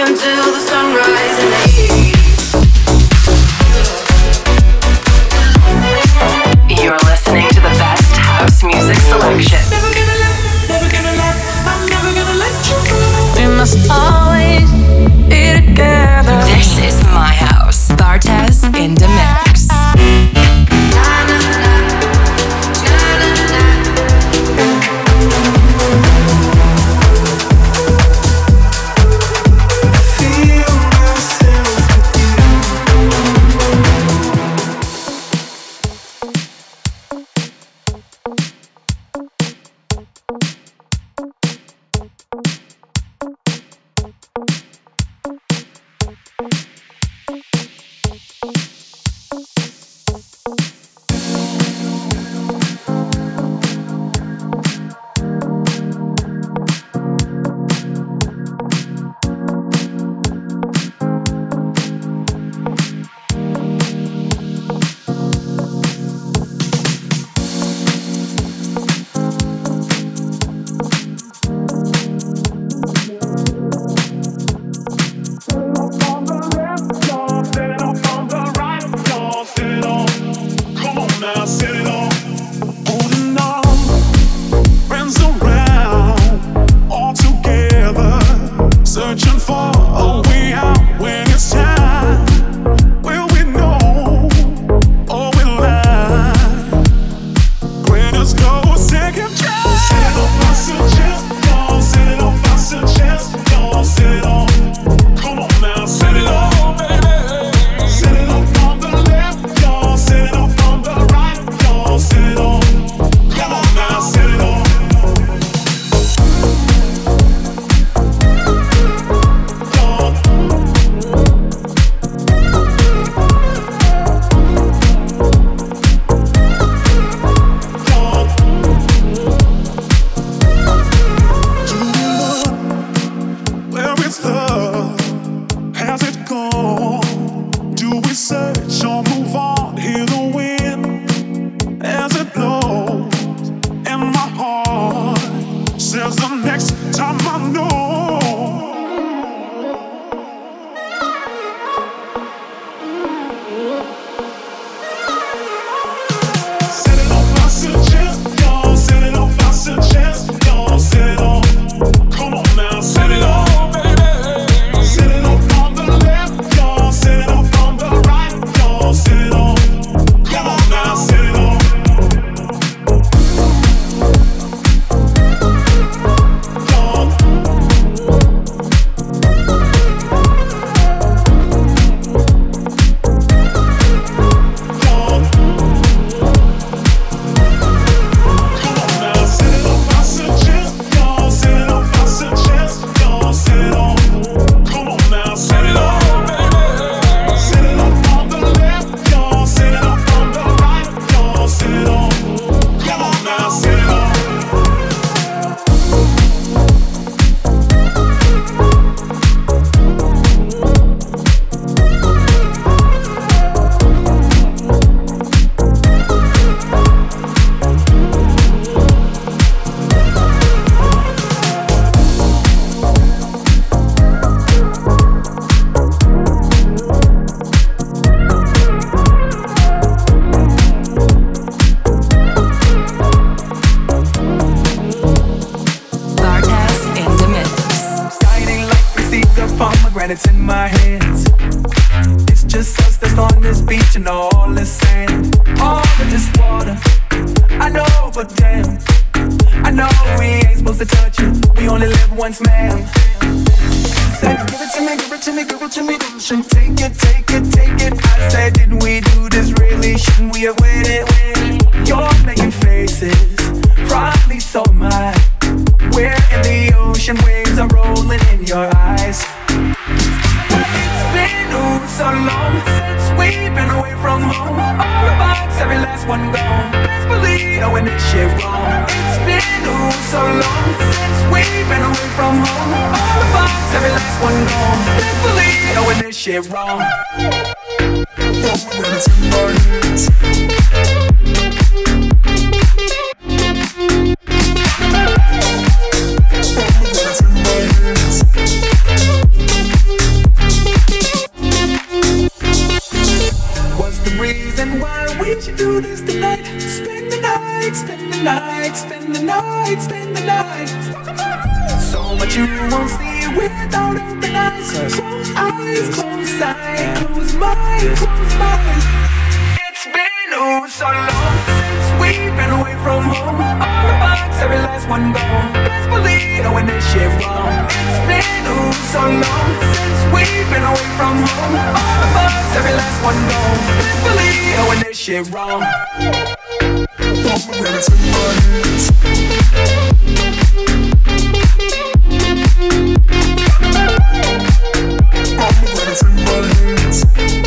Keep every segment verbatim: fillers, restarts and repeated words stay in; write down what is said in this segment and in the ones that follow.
until the sunrise in the east. You're listening to the best house music selection. Never gonna let, never gonna let, I'm never gonna let you go. We must always be together. This is my house. Bartez in the mix. out of the night. Close eyes, close sight, close mind, close mind. It's been oh so long since we've been away from home. All the bugs, every last one gone. Best believe knowing this shit wrong. It's been oh so long since we've been away from home. All the bugs, every last one gone. Best believe knowing this shit wrong. Pomegranates in my hands. Pomegranates in my hands.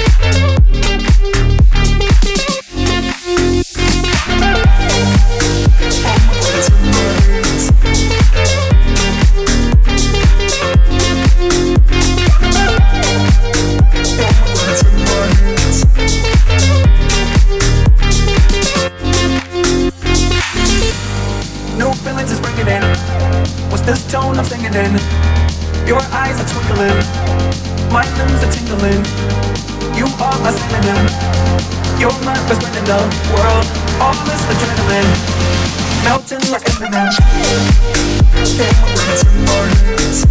This tone I'm singing in, your eyes are twinkling, my limbs are tingling. You are my synonym, you're my best friend in the world. All this adrenaline, melting like Eminem. Pomegranates in my hands.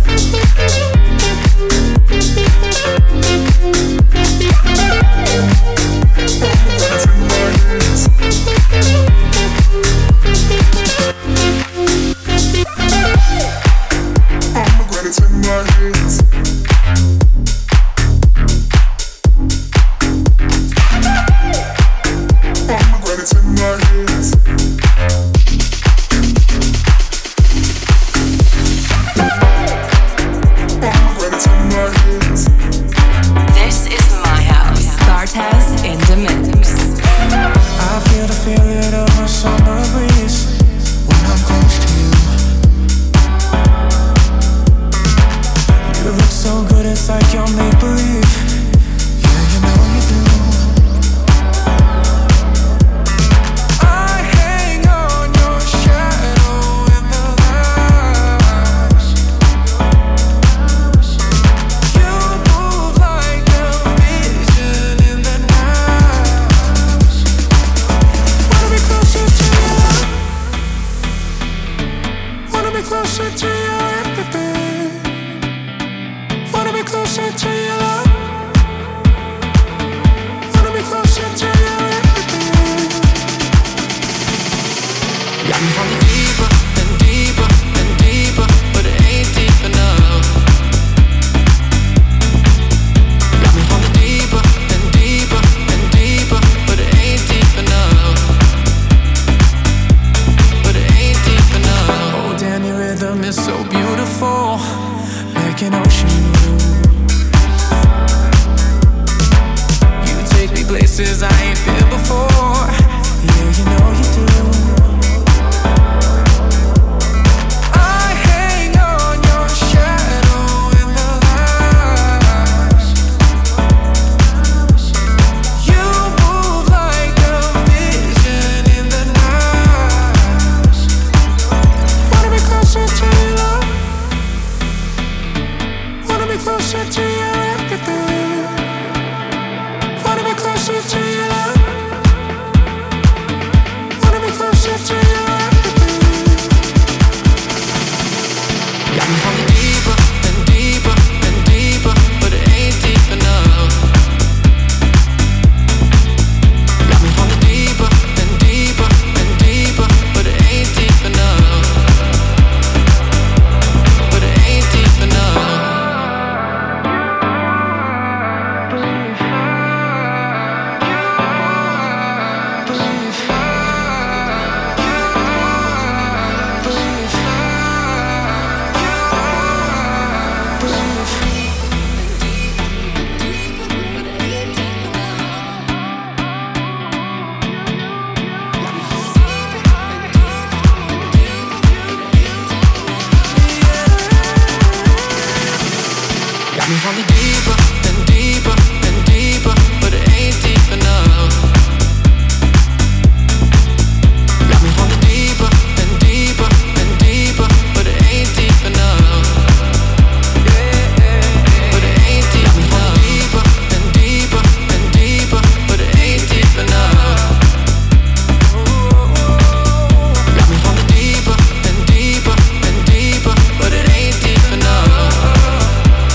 Pomegranates in my hands. Pomegranates in my hands. Pomegranates in my hands. Pomegranates in my hands. This is my house. Bartez in the mix. I feel the feeling of a summer breeze when I'm close to you. You look so good, it's like you're make-believe. Yeah, you know you do. I hang on your shadow in the light. You move like a vision in the night. Wanna be closer to you. Wanna be closer to you, everything. Wanna be closer to your love. Wanna be closer to your everything. Got me falling deeper and deeper and deeper, but it ain't deep enough. Got me falling deeper and deeper and deeper, but it ain't deep enough. But it ain't deep enough. Oh, damn, your rhythm is so beautiful, like an ocean view. You take me places I ain't been before. Yeah, you know you do. I hang on your shadow in the light. You move like a vision in the night. Wanna be closer to your love. Wanna be closer to your everything. Wanna be closer to your love. Wanna be closer to your everything. Got me falling deeper and deeper and deeper, but it ain't deep enough. Got me falling deeper and deeper and deeper, but it ain't deep enough. But it ain't deep enough. Got me falling deeper and deeper and deeper, but it ain't deep enough. Got me falling deeper and deeper and deeper, but it ain't deep enough. But it ain't deep enough. Deeper and deeper and deeper, but it ain't deep enough. Got me falling deeper and deeper and deeper, but it ain't deep enough.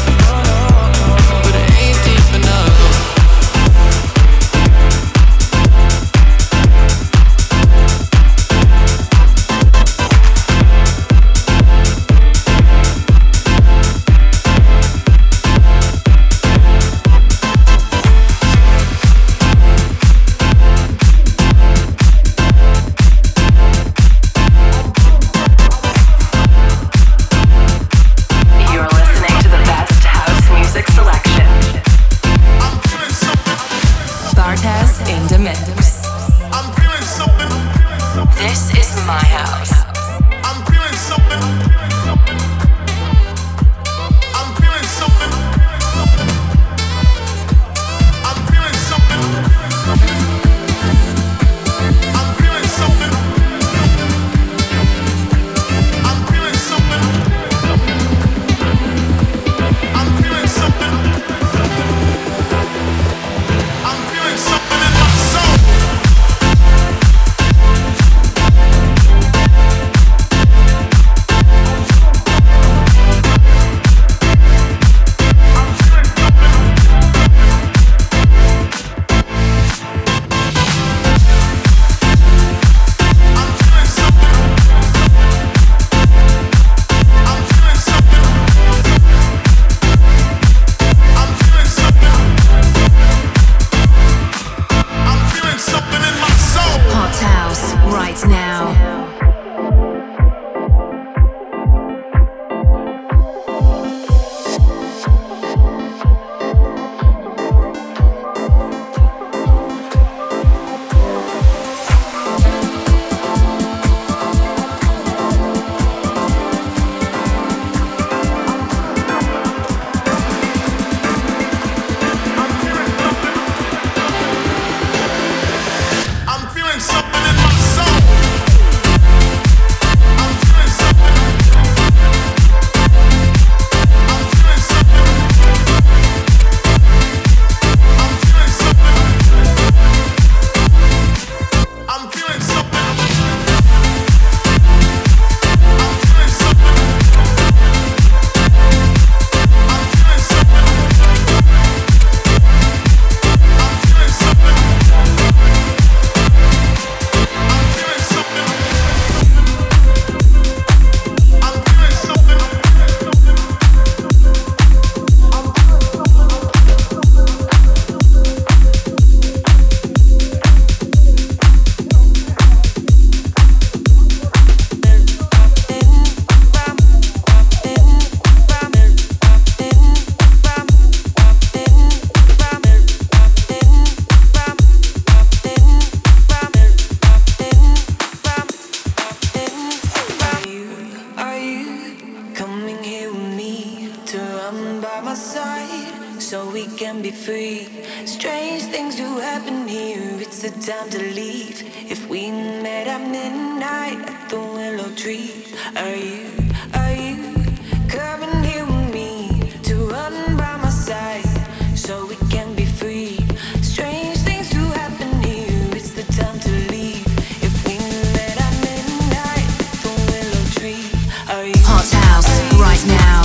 side so we can be free. Strange things do happen here, it's the time to leave. If we met at midnight at the willow tree, are you, are you coming here with me to run by my side so we can be free? Strange things do happen here, it's the time to leave. If we met at midnight at the willow tree, are you, Hot House right now.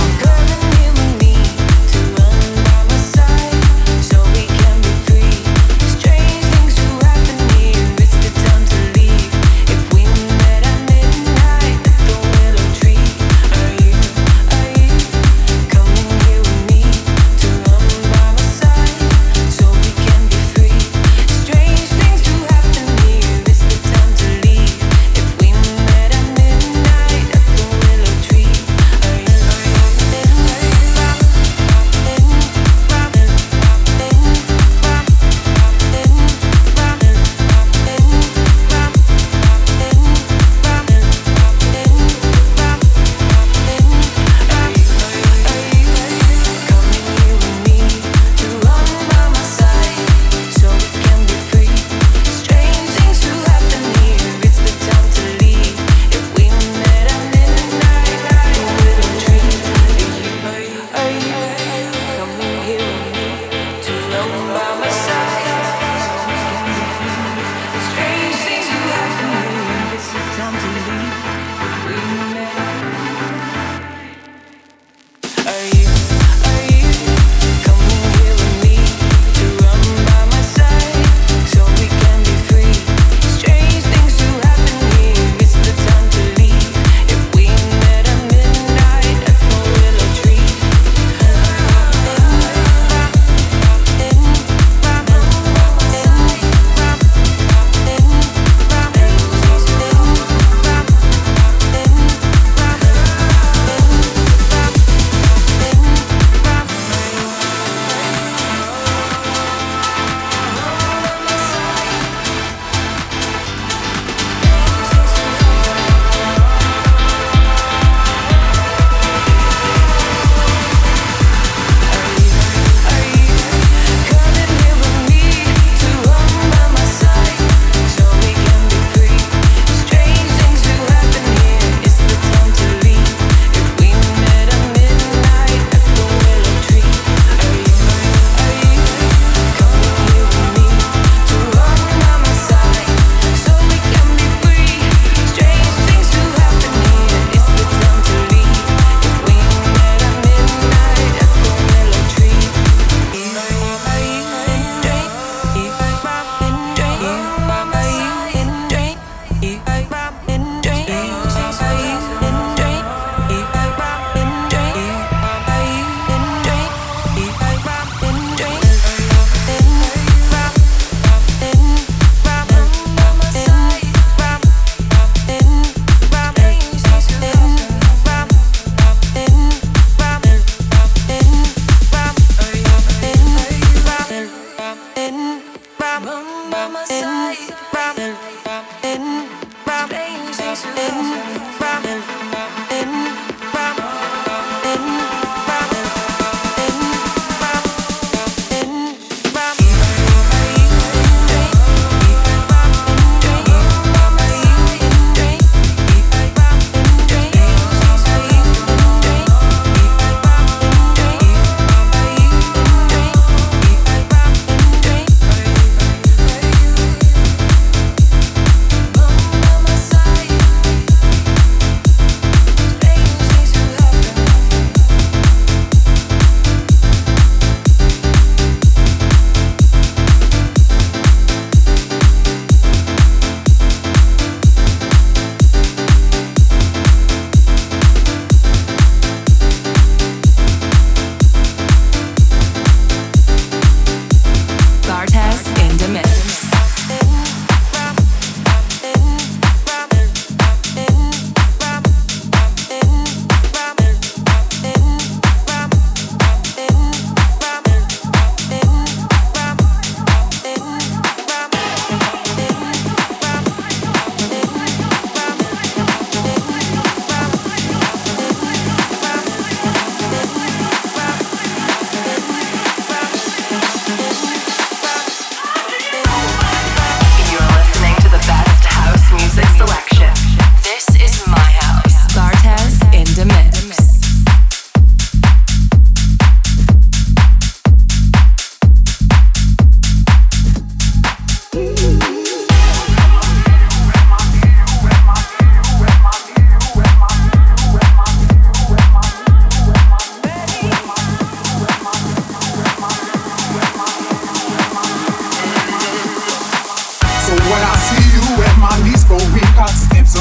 Coming here with me to run by my side.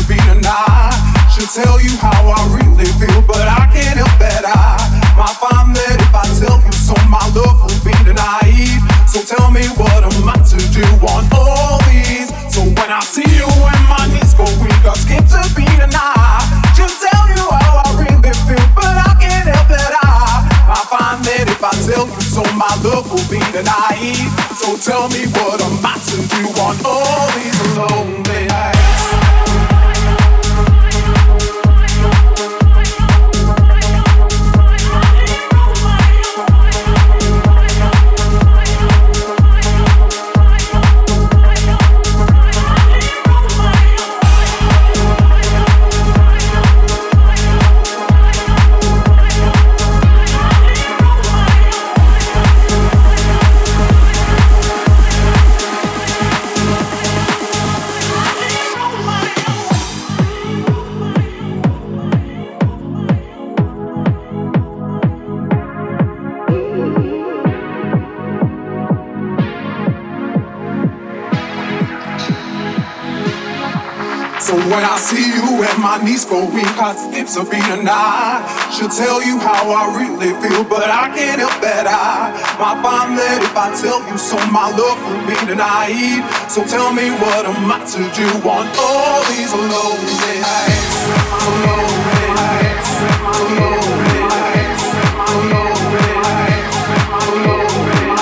be tonight. Should tell you how I really feel, but I can't help that I might find that if I tell you so, my love will be naive. So tell me what am I to do on all these? So when I see you and my knees go weak, I skip to be tonight. Should tell you how I really feel, but I can't help that I I find that if I tell you so, my love will be naive. So tell me what am I to do on all these lonely nights? When I see you and my knees go weak, I skip a beat and I should tell you how I really feel, but I can't help that I might find that if I tell you so, my love will be naive. So tell me what am I to do on all these lonely nights? Lonely nights, lonely nights, lonely nights, lonely nights.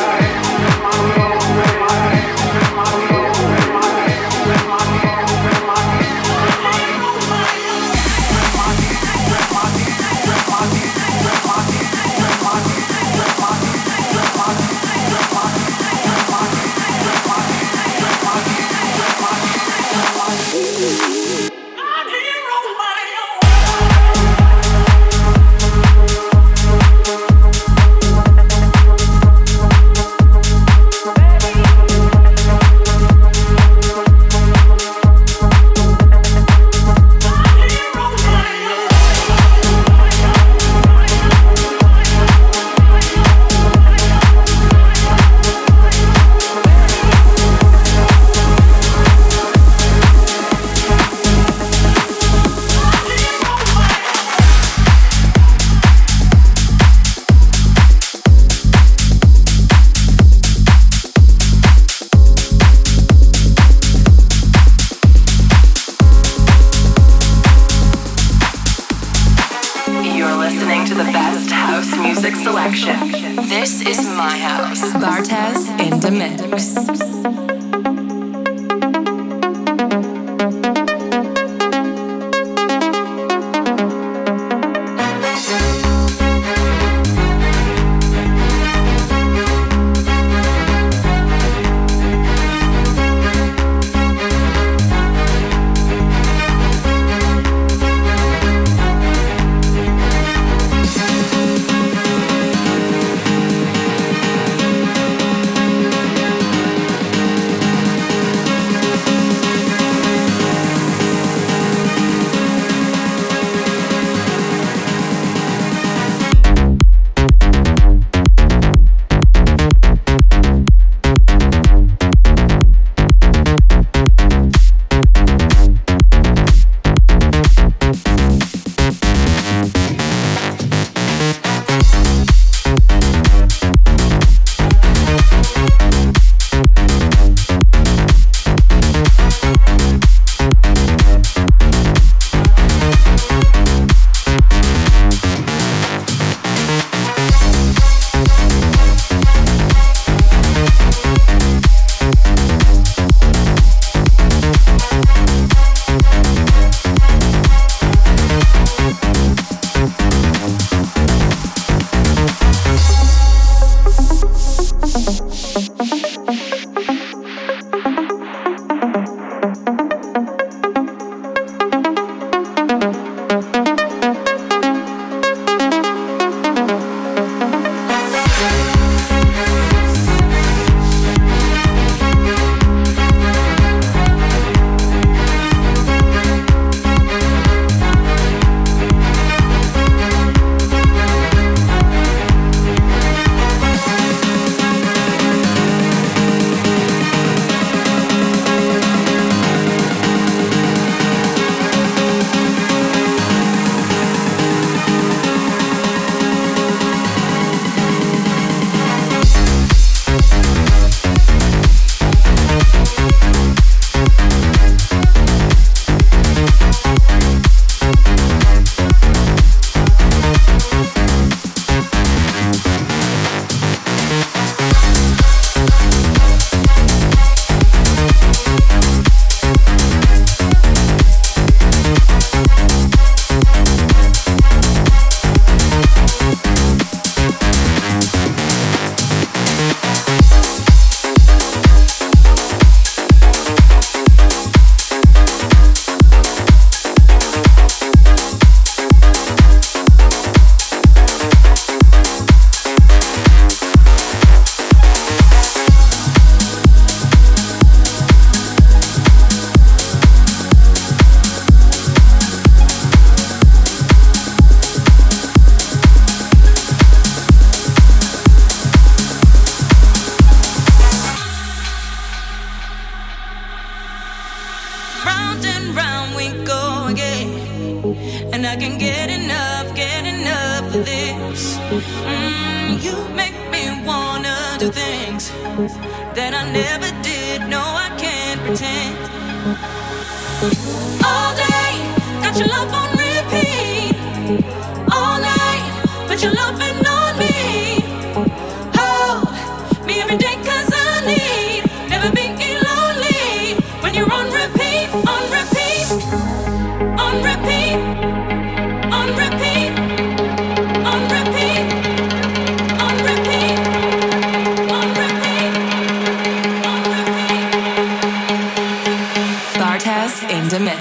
This is my house. Bartez in the mix. do things that I never did. No, I can't pretend. All day, got your love on repeat. All night, put your loving on me. Hold me every day 'cause I need never be lonely when you're on repeat, on repeat, on repeat, on repeat, on repeat, on repeat, on repeat, on repeat. Bartez in the mix.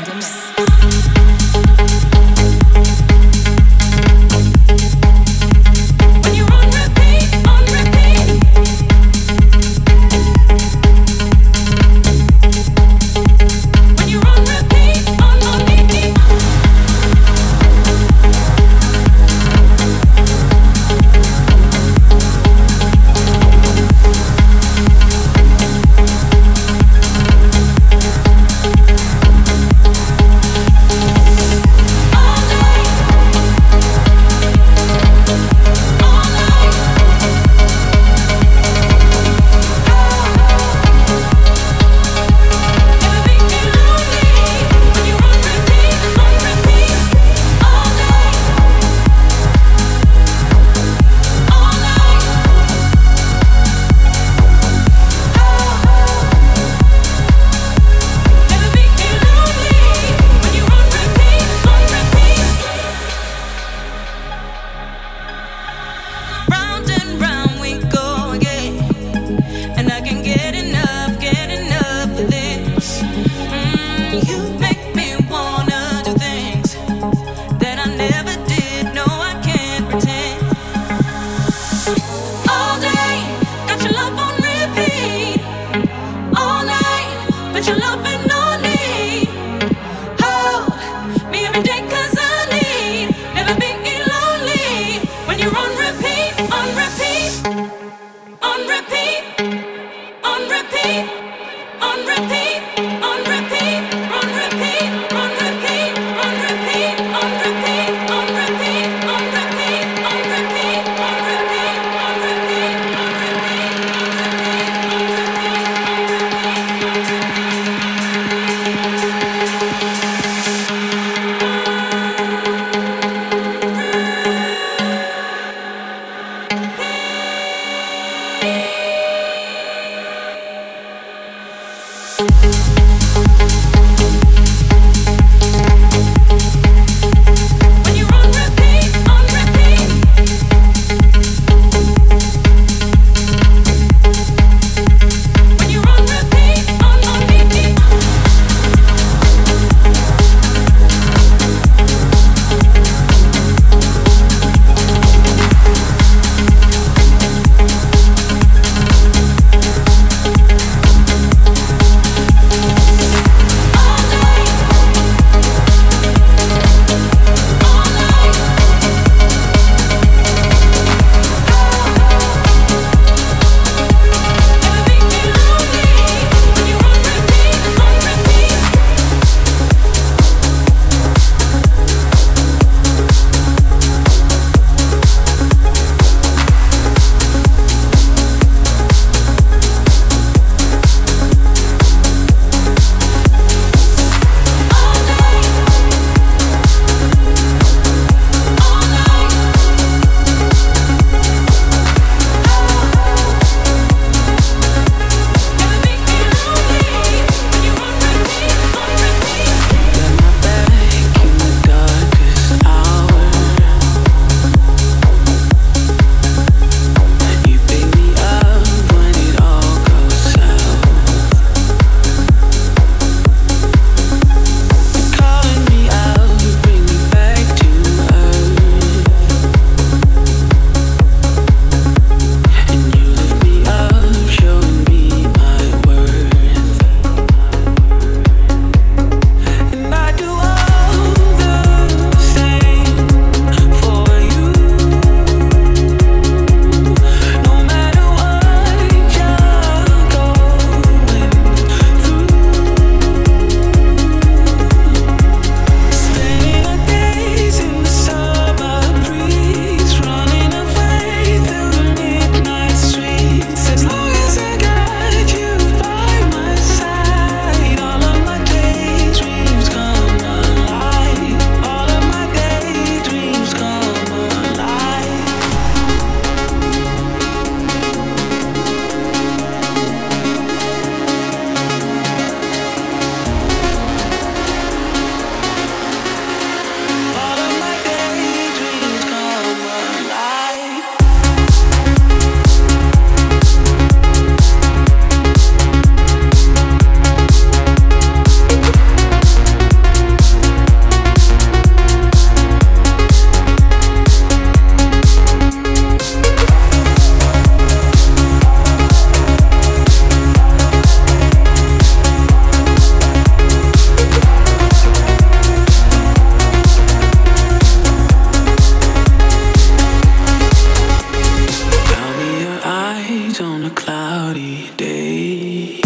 eyes on a cloudy day.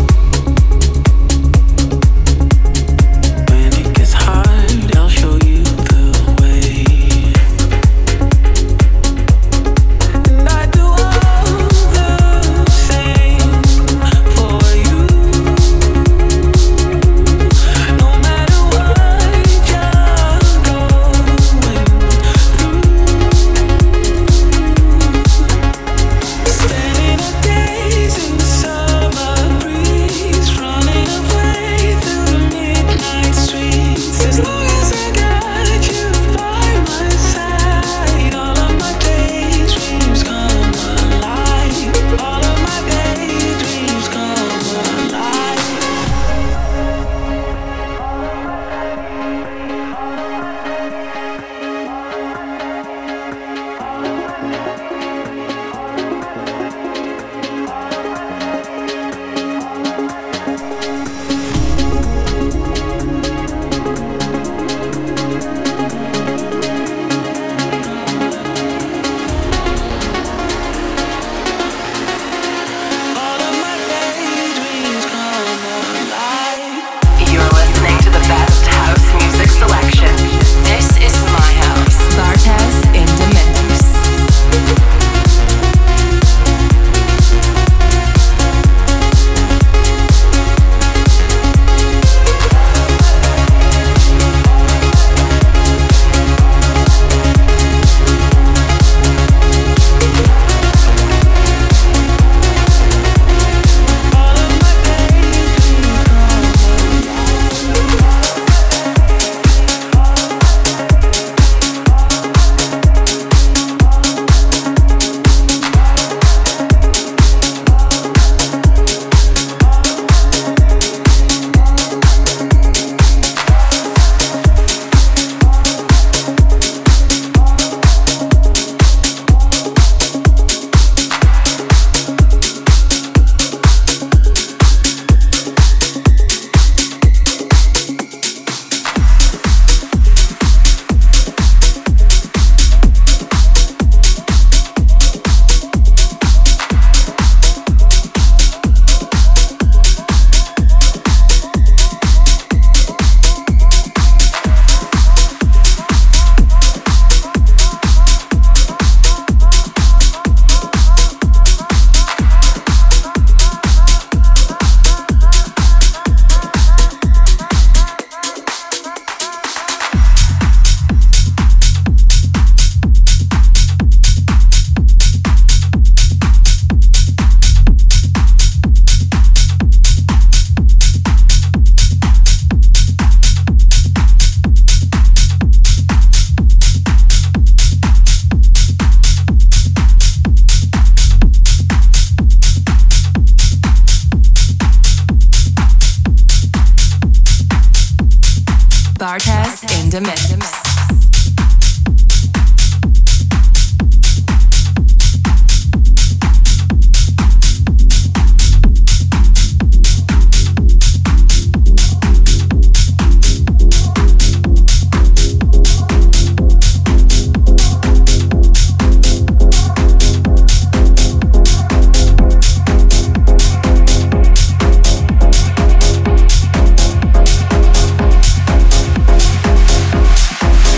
When it gets hard, I'll show you the way. And I do all the same for you. No matter what you're going through. Standing a days in the summer breeze, running away through the midnight streets. As long as I got you by my side, all of my daydreams come alive. All of my daydreams come alive. All of my daydreams come alive. You're listening to the best house music selection. This is my house. Bartez in the mix. All of my daydreams Bartez in the mix. come alive.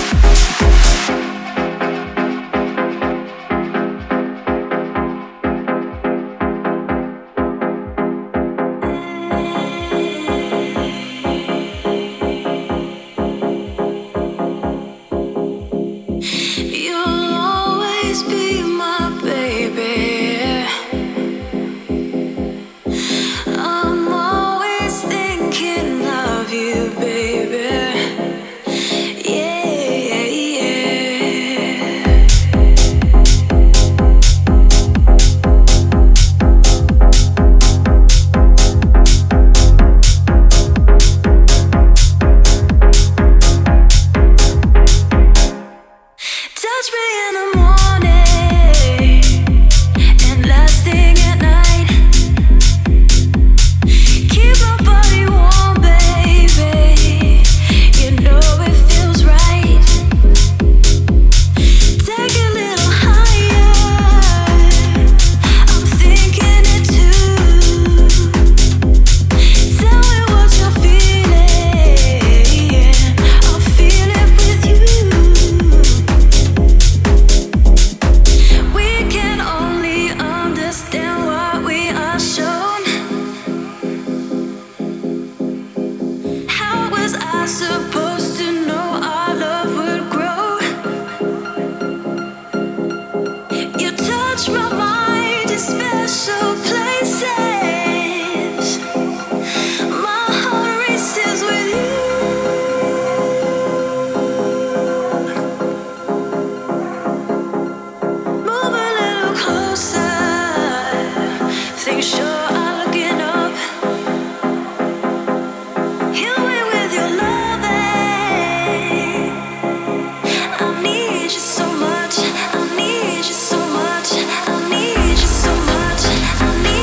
I need you so much. I need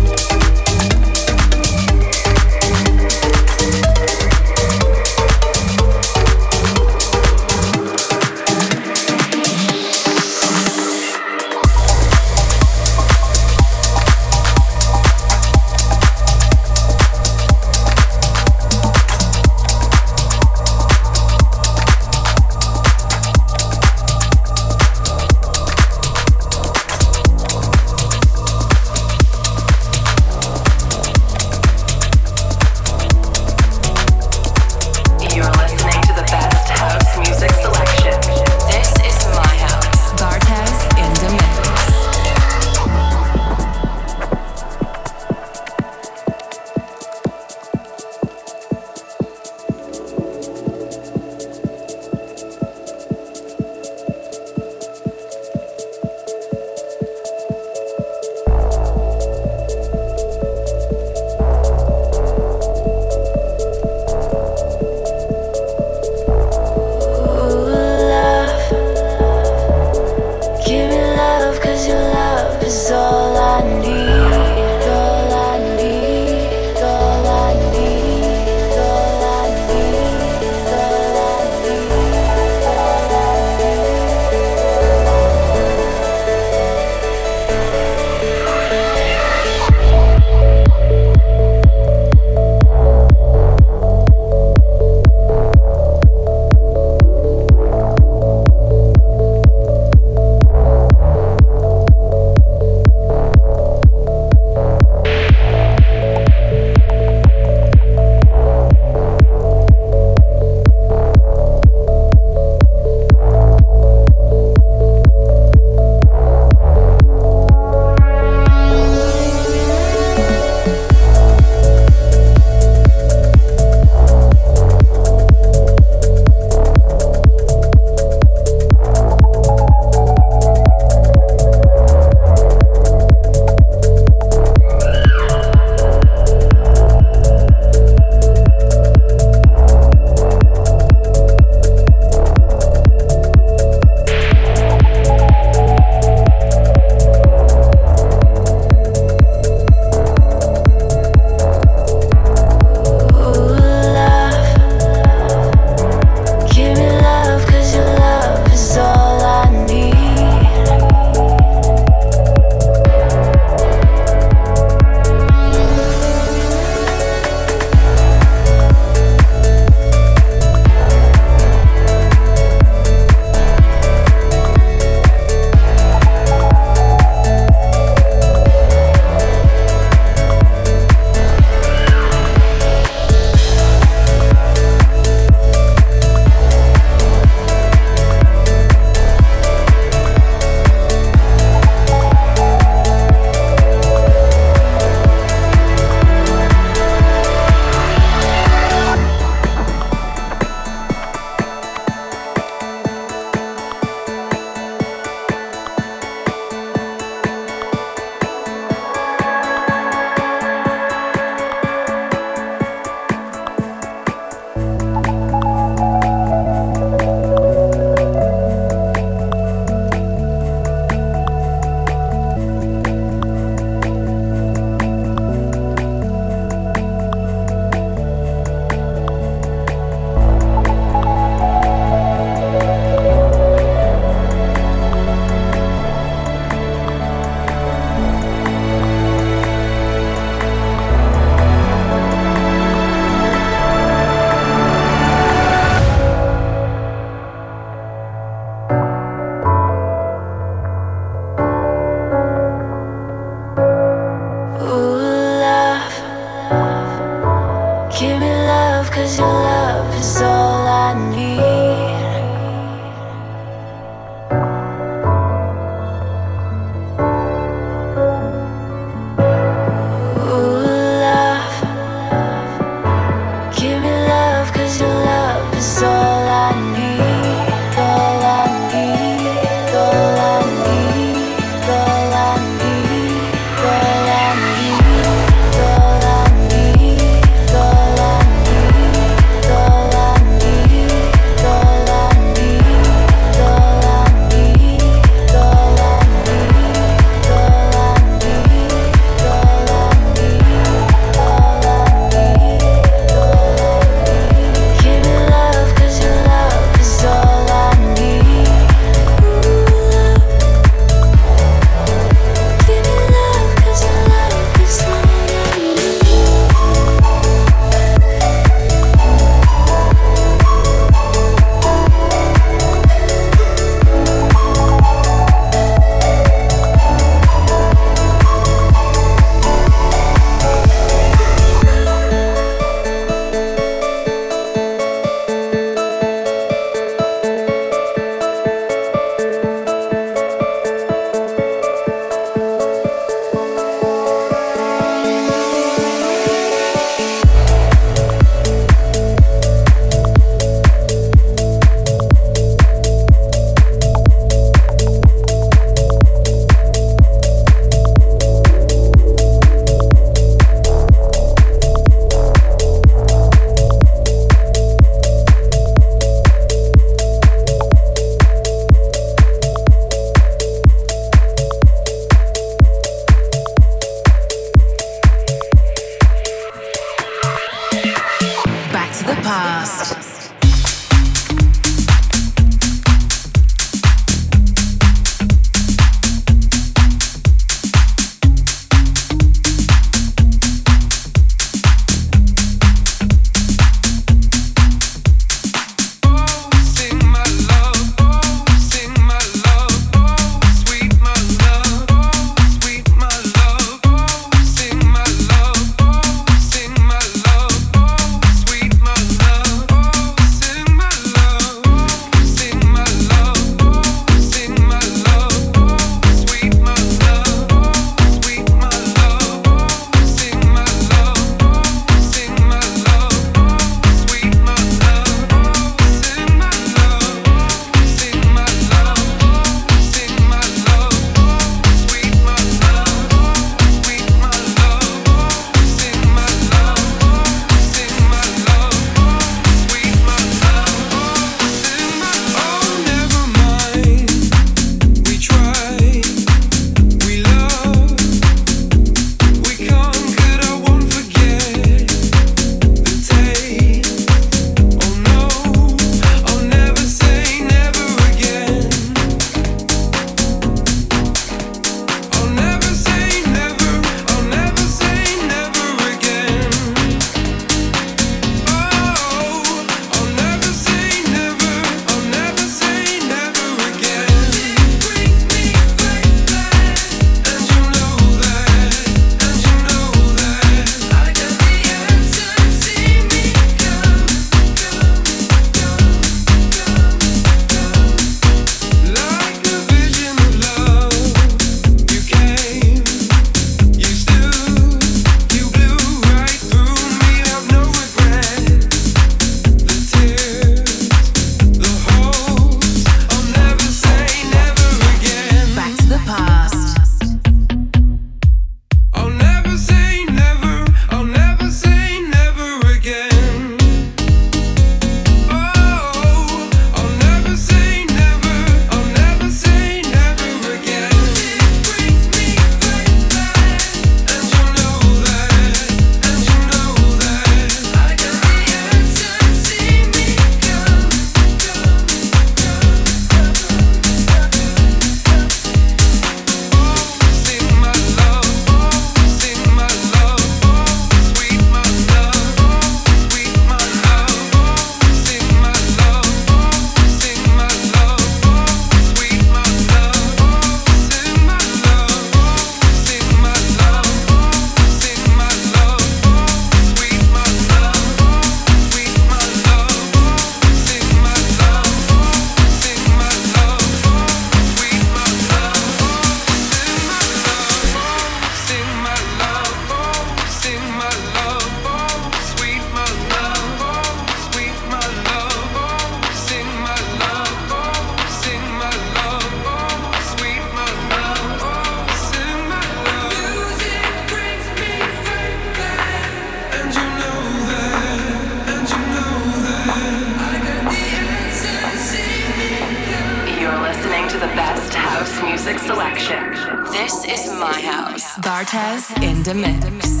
Bartez in the mix.